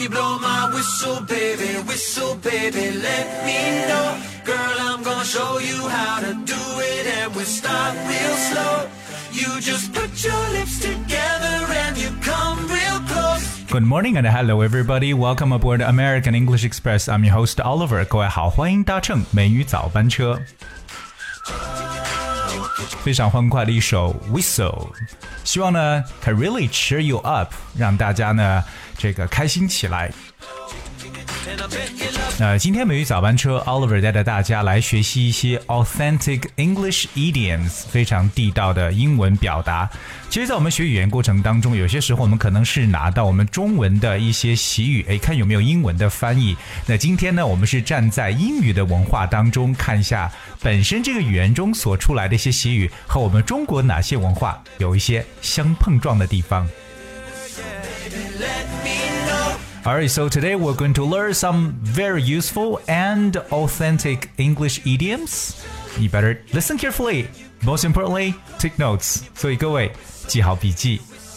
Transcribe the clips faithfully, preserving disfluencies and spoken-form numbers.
you blow my whistle, baby, whistle, baby, let me know. Girl, I'm gonna show you how to do it, and we'll start real slow. You just put your lips together and you come real close. Good morning and hello everybody. Welcome aboard American English Express. I'm your host Oliver. 各位好，欢迎搭乘美语早班车。非常欢快的一首 Whistle， 希望呢 can really cheer you up， 让大家呢这个开心起来。呃，今天美语早班车 Oliver 带着大家来学习一些 authentic English idioms， 非常地道的英文表达。其实在我们学语言过程当中，有些时候我们可能是拿到我们中文的一些习语，诶，看有没有英文的翻译。那今天呢，我们是站在英语的文化当中，看一下本身这个语言中所出来的一些习语和我们中国哪些文化有一些相碰撞的地方。Alright, so today we're going to learn some very useful and authentic English idioms. You better listen carefully. Most importantly, take notes. 所以各位记好笔记。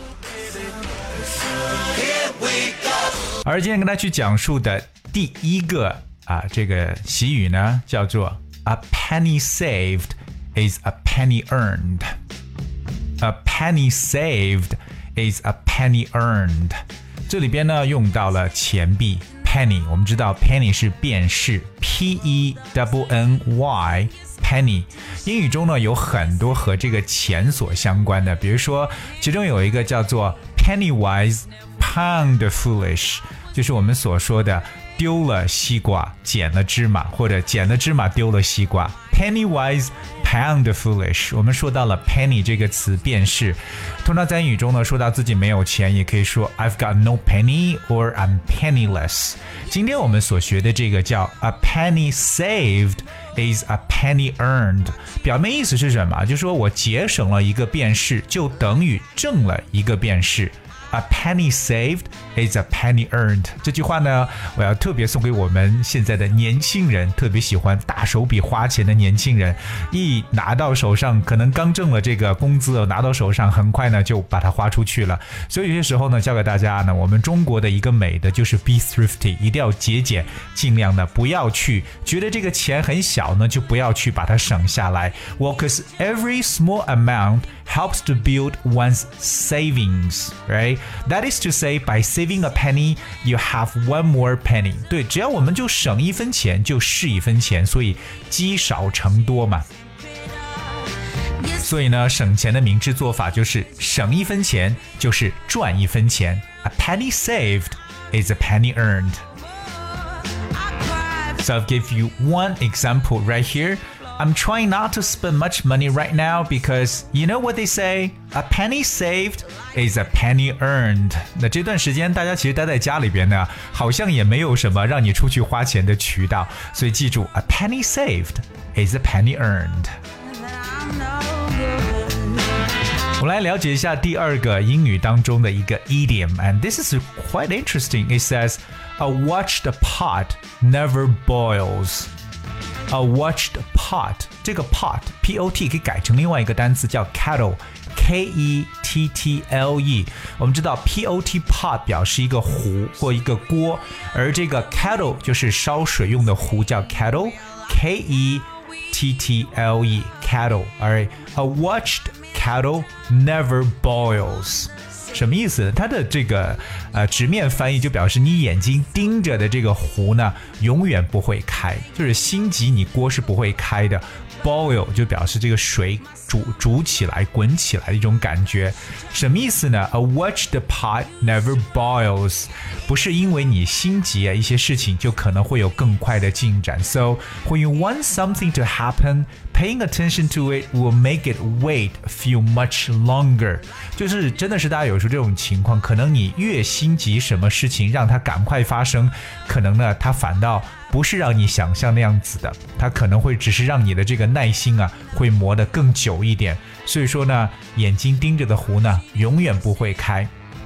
而今天跟大家去讲述的第一个啊，这个习语呢，叫做 A penny saved is a penny earned. A penny saved is a penny earned.这里边呢用到了钱币 penny， 我们知道 penny 是便士 P E N N Y penny。英语中呢有很多和这个钱所相关的，比如说其中有一个叫做 penny wise pound foolish， 就是我们所说的丢了西瓜捡了芝麻，或者捡了芝麻丢了西瓜。Penny wise, pound foolish。我们说到了 penny 这个词便是，通常在英语中呢，说到自己没有钱，也可以说 I've got no penny or I'm penniless。今天我们所学的这个叫 a penny saved is a penny earned， 表面意思是什么？就是说我节省了一个便士，就等于挣了一个便士。A penny saved is a penny earned。 这句话呢，我要特别送给我们现在的年轻人，特别喜欢大手笔花钱的年轻人。一拿到手上，可能刚挣了这个工资，拿到手上很快呢就把它花出去了。所以有些时候呢，教给大家呢，我们中国的一个美的就是 be thrifty， 一定要节俭，尽量的不要去觉得这个钱很小呢，就不要去把它省下来。Well, because every small amount helps to build one's savings, right? That is to say, by saving a penny, you have one more penny. 对，只要我们就省一分钱，就是一分钱，所以积少成多嘛。所以呢，省钱的明智做法就是省一分钱就是赚一分钱。A penny saved is a penny earned. So I'll give you one example right here.I'm trying not to spend much money right now because you know what they say? A penny saved is a penny earned. 那这段时间大家其实待在家里边呢，好像也没有什么让你出去花钱的渠道，所以记住 A penny saved is a penny earned. 我们来了解一下第二个英语当中的一个 idiom, and this is quite interesting. It says, a watched pot never boils.A watched pot， 这个 pot P O T 可以改成另外一个单词叫 kettle K E T T L E。 我们知道 P O T pot 表示一个壶或一个锅，而这个 kettle 就是烧水用的壶，叫 kettle K E T T L E kettle。 Alright, a watched kettle never boils。什么意思？它的这个呃直面翻译就表示你眼睛盯着的这个壶呢，永远不会开，就是心急你锅是不会开的。Boil 就表示这个水煮煮起来、滚起来的一种感觉。什么意思呢？ A watched pot never boils， 不是因为你心急啊，一些事情就可能会有更快的进展。So when you want something to happen, paying attention to it will make it wait feel much longer。 就是真的是大家有时候这种情况，可能你越心急什么事情让它赶快发生，可能呢它反倒不是让你想象那样子的，它可能会只是让你的这个耐心啊会磨得更久一点。所以说呢，眼睛盯着的壶呢永远不会开。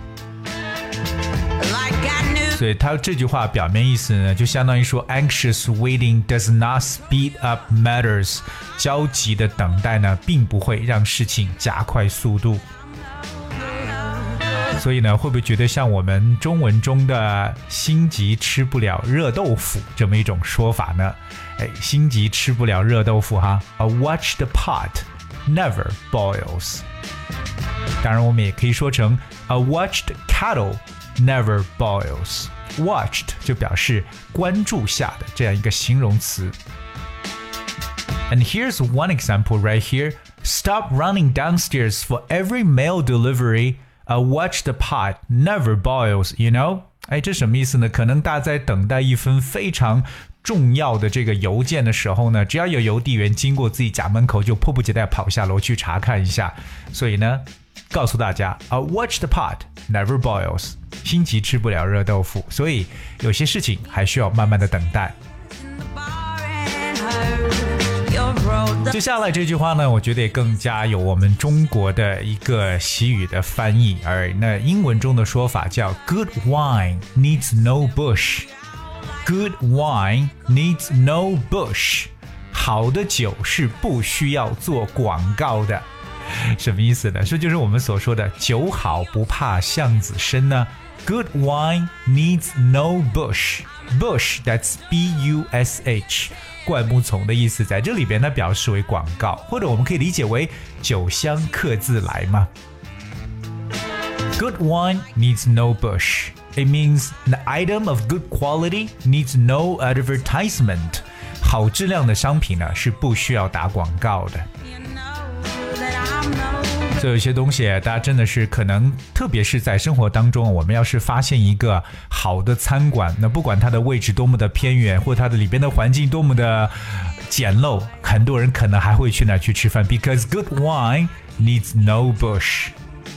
所以它这句话表面意思呢，就相当于说 anxious waiting does not speed up matters， 焦急的等待呢并不会让事情加快速度。 所以呢，会不会觉得像我们中文中的心急吃不了热豆腐这么一种说法呢？哎，心急吃不了热豆腐哈 ，A watched pot never boils。当然，我们也可以说成 A watched kettle never boils。Watched 就表示关注下的这样一个形容词。And here's one example right here. Stop running downstairs for every mail delivery. A watched pot never boils, you know? 哎，这什么意思呢？可能大家在等待一份非常重要的这个邮件的时候呢，只要有邮递员经过自己家门口，就迫不及待跑下楼去查看一下。所以呢，告诉大家 ，A watched pot never boils， 心急吃不了热豆腐，所以有些事情还需要慢慢的等待。接下来这句话呢，我觉得也更加有我们中国的一个习语的翻译，而那英文中的说法叫 Good wine needs no bush。Good wine needs no bush。好的酒是不需要做广告的。什么意思呢？这就是我们所说的酒好不怕巷子深呢。Good wine needs no bush. Bush, that's B U S H. 灌木丛的意思在这里边呢表示为广告，或者我们可以理解为酒香客自来嘛。Good wine needs no bush. It means an item of good quality needs no advertisement. 好质量的商品呢是不需要打广告的。所以有些东西大家真的是可能特别是在生活当中，我们要是发现一个好的餐馆，那不管它的位置多么的偏远，或它的里边的环境多么的简陋，很多人可能还会去那去吃饭 because good wine needs no bush.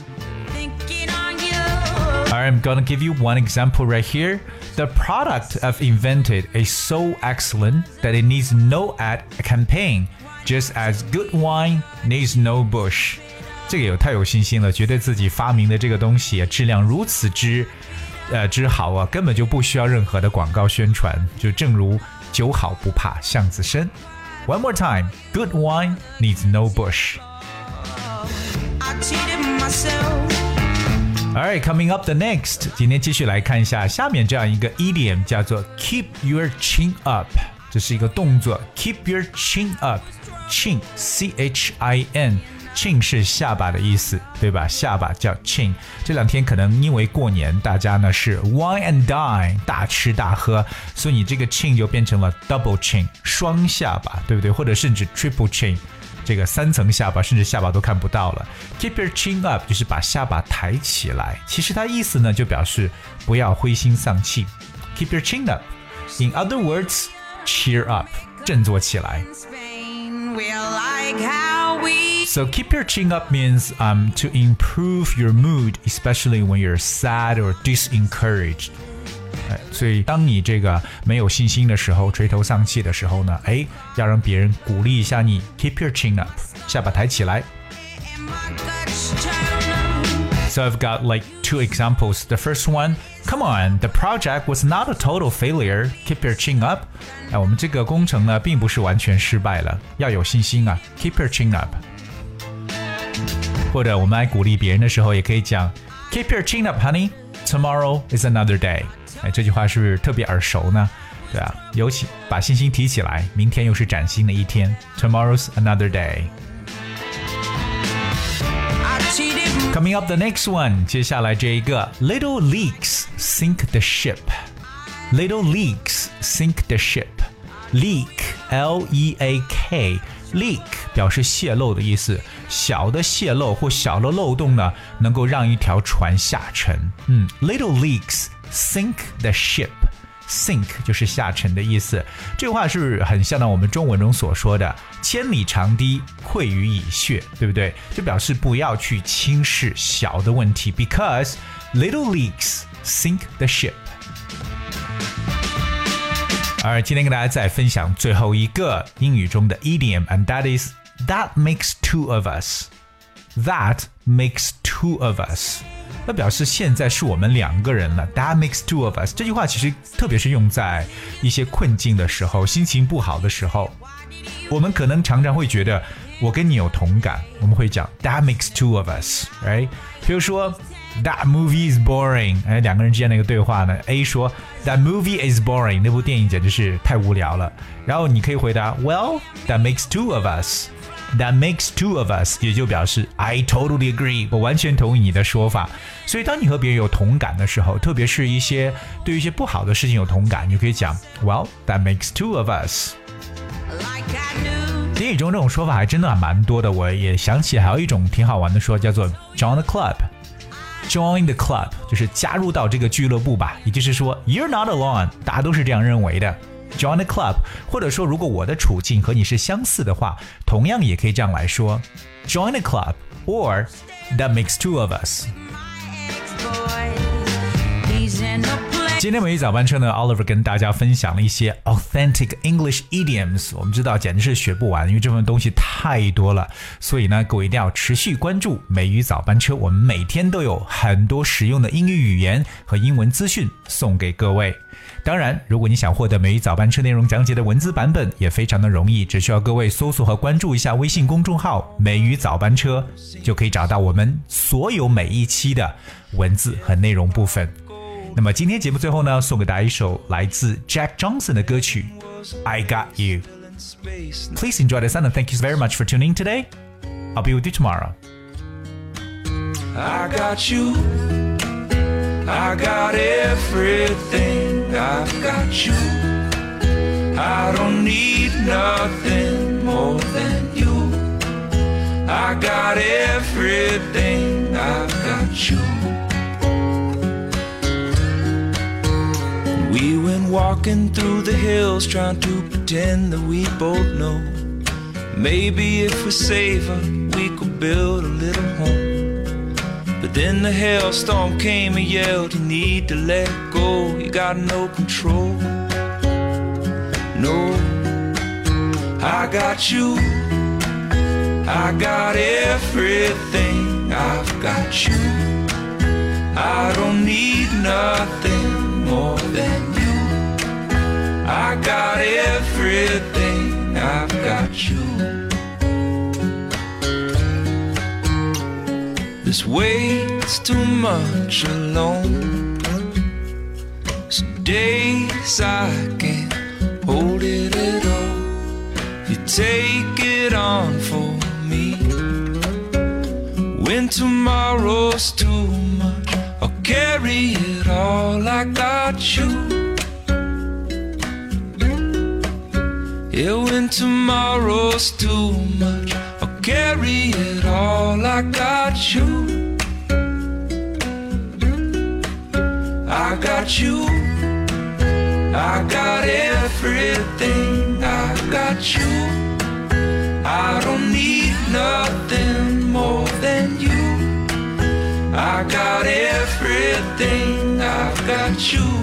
Alright, I'm gonna give you one example right here. The product I've invented is so excellent that it needs no ad campaign, just as good wine needs no bush. 这个有太有信心了，觉得自己发明的这个东西质量如此之呃之好啊，根本就不需要任何的广告宣传，就正如酒好不怕巷子深。One more time, good wine needs no bush. Alright, coming up the next. 今天继续来看一下下面这样一个 idiom 叫做 keep your chin up. 这是一个动作 keep your chin up. Chin, C H I N.Chin 是下巴的意思，对吧？下巴叫 chin。这两天可能因为过年，大家呢是 wine and dine 大吃大喝，所以你这个 chin 就变成了 double chin 双下巴，对不对？或者甚至 triple chin 这个三层下巴，甚至下巴都看不到了。Keep your chin up 就是把下巴抬起来，其实它意思呢就表示不要灰心丧气。Keep your chin up. In other words, cheer up 振作起来。So keep your chin up means um, to improve your mood, especially when you're sad or disencouraged. 所以当你这个没有信心的时候，垂头丧气的时候呢，哎，要让别人鼓励一下你 ，keep your chin up， 下巴抬起来。So I've got like two examples. The first one, come on, the project was not a total failure. Keep your chin up. 哎，我们这个工程呢，并不是完全失败了，要有信心啊 ，keep your chin up。或者我们来鼓励别人的时候，也可以讲 Keep your chin up, honey. Tomorrow is another day. 哎，这句话是不是特别耳熟呢？对啊，尤其把信心提起来，明天又是崭新的一天。Tomorrow's another day. Coming up the next one. 接下来这一个 Little leaks sink the ship. Little leaks sink the ship. Leak, L E A K.Leak 表示泄漏的意思，小的泄漏或小的漏洞呢，能够让一条船下沉。嗯 ，Little leaks sink the ship. Sink 就是下沉的意思。这话是很像到我们中文中所说的“千里长堤溃于蚁穴”，对不对？就表示不要去轻视小的问题 ，because little leaks sink the ship. 而今天跟大家再分享最后一个英语中的 idiom, and that is that makes two of us. That makes two of us. 那表示现在是我们两个人了。That makes two of us. 这句话其实特别是用在一些困境的时候，心情不好的时候，我们可能常常会觉得我跟你有同感，我们会讲 That makes two of us, right? 比如说 That movie is boring. 哎，两个人之间的一个对话呢 A 说 That movie is boring. 那部电影简直是太无聊了。然后你可以回答 Well, that makes two of us. That makes two of us. 也就表示 I totally agree. 我完全同意你的说法。所以当你和别人有同感的时候，特别是一些对于一些不好的事情有同感，你就可以讲 Well, that makes two of us. 英语中这种说法还真的蛮多的，我也想起还有一种挺好玩的说，叫做 Join the club。Join the club 就是加入到这个俱乐部吧，也就是说 You're not alone， 大家都是这样认为的。Join the club， 或者说如果我的处境和你是相似的话，同样也可以这样来说 Join the club or That makes two of us。今天美语早班车呢 Oliver 跟大家分享了一些 authentic English idioms， 我们知道简直是学不完，因为这份东西太多了，所以呢各位一定要持续关注美语早班车，我们每天都有很多实用的英语语言和英文资讯送给各位。当然如果你想获得美语早班车内容讲解的文字版本也非常的容易，只需要各位搜索和关注一下微信公众号美语早班车，就可以找到我们所有每一期的文字和内容部分。那么今天节目最后呢，送给大家一首来自 Jack Johnson 的歌曲 I Got You. Please enjoy the sound and thank you very much for tuning in today. I'll be with you tomorrow. I got you. I got everything. I've got you. I don't need nothing more than you. I got everything. I've got you.We went walking through the hills trying to pretend that we both know maybe if we save her we could build a little home. But then the hailstorm came and yelled you need to let go, you got no control. No, I got you, I got everything. I've got you, I don't need nothing more than you. I got everything. I've got you. This weight's too much alone. Some days I can't hold it at all. You take it on for me. When tomorrow's too much, I'll carry it all. I got you. Yeah, when tomorrow's too much, I'll carry it all. I got you. I got you. I got everything. I got you. I don't need nothing more than you. I got everything. I've got you.